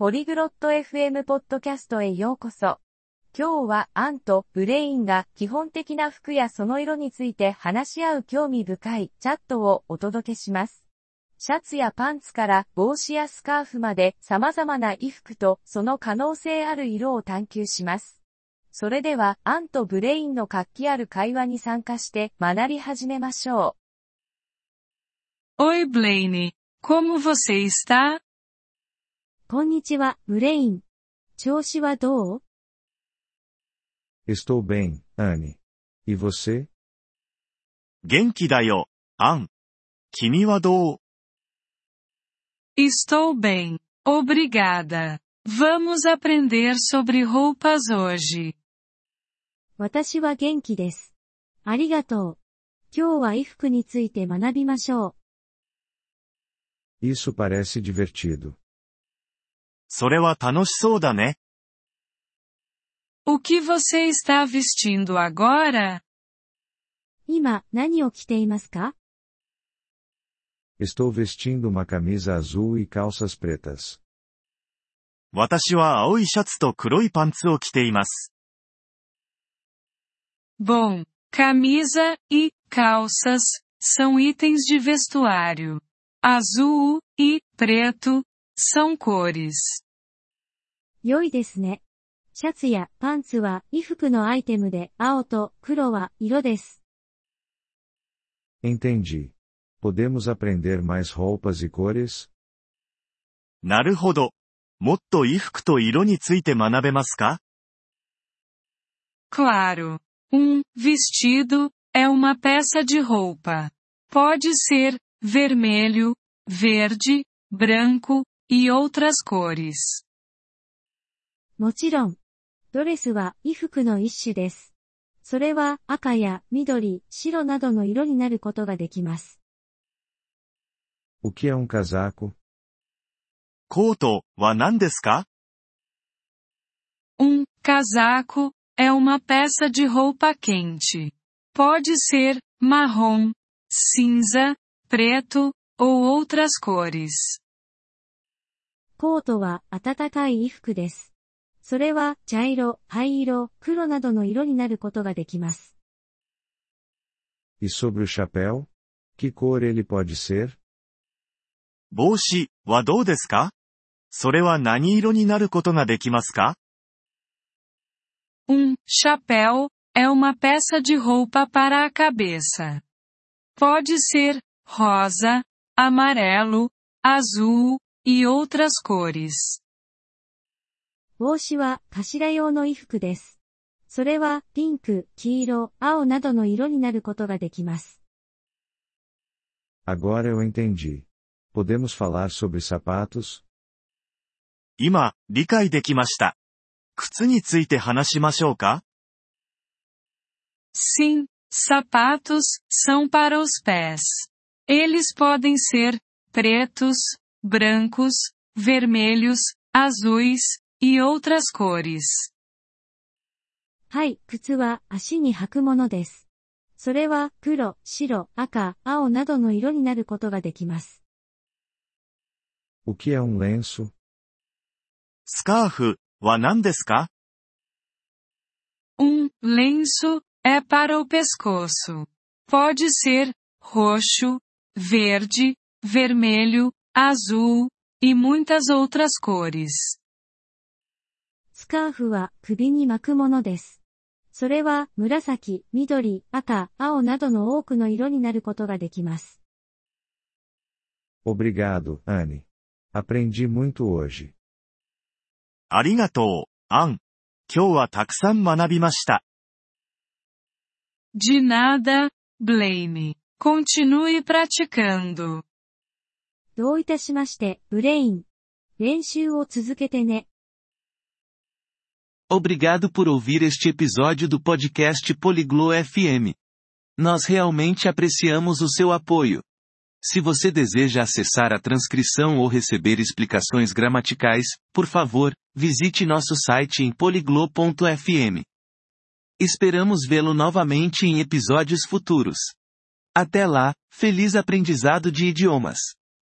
ポリグロット FM ポッドキャストへようこそ。今日はアンとブレインが基本的な服やその色について話し合う興味深いチャットをお届けします。シャツやパンツから帽子やスカーフまで様々な衣服とその可能性ある色を探求します。それではアンとブレインの活気ある会話に参加して学び始めましょう。Oi Blaine, como você está? こんにちは、ブレイン。調子はどう？ Estou bem, Anne. E você? 元気だよ、アン。君はどう？ Estou bem, obrigada. Vamos aprender sobre roupas hoje. 私は元気です。ありがとう。今日は衣服について学びましょう。Isso parece divertido. それは楽しそうだね。 O que você está vestindo agora? 今、何を着ていますか？ Estou vestindo uma camisa azul e calças pretas. 私は青いシャツと黒いパンツを着ています。 Bom, camisa e calças são itens de vestuário. Azul e preto são cores. 良いですね。シャツやパンツは衣服のアイテムで青と黒は色です。 Entendi. Podemos aprender mais roupas e cores? なるほど。もっと衣服と色について学べますか？ Claro. Vestido é uma peça de roupa. Pode ser vermelho, verde, branco e outras cores. もちろん。ドレスは衣服の一種です。それは赤や緑、白などの色になることができます。 O que é casaco? コートは何ですか？ casaco é uma peça de roupa quente. Pode ser marrom, cinza, preto ou outras cores. コートは暖かい衣服です。それは茶色、灰色、黒などの色になることができます。 E sobre o chapéu? Que cor ele pode ser? 帽子はどうですか？それは何色になることができますか？ chapéu é uma peça de roupa para a cabeça. Pode ser rosa, amarelo, azul e outras cores. 帽子は頭用の衣服です。それはピンク、黄色、青などの色になることができます。 Agora eu entendi. Podemos falar sobre sapatos? 今、理解できました。靴について話しましょうか？ Sim, sapatos são para os pés. Eles podem ser pretos, brancos, vermelhos, azuis e outras cores. はい、靴は足に履くものです。それは黒、白、赤、青などの色になることができます。 O que é lenço? スカーフは何ですか？ lenço é para o pescoço. Pode ser roxo, verde, vermelho, azul e muitas outras cores. スカーフは首に巻くものです。それは紫、緑、赤、青などの多くの色になることができます。 Obrigado, Anne. Aprendi muito hoje. ありがとう、アン。今日はたくさん学びました。 De nada, Blaine. Continue praticando. どういたしまして、ブレイン。練習を続けてね。 Obrigado por ouvir este episódio do podcast Poliglo FM. Nós realmente apreciamos o seu apoio. Se você deseja acessar a transcrição ou receber explicações gramaticais, por favor, visite nosso site em poliglo.fm. Esperamos vê-lo novamente em episódios futuros. Até lá, feliz aprendizado de idiomas!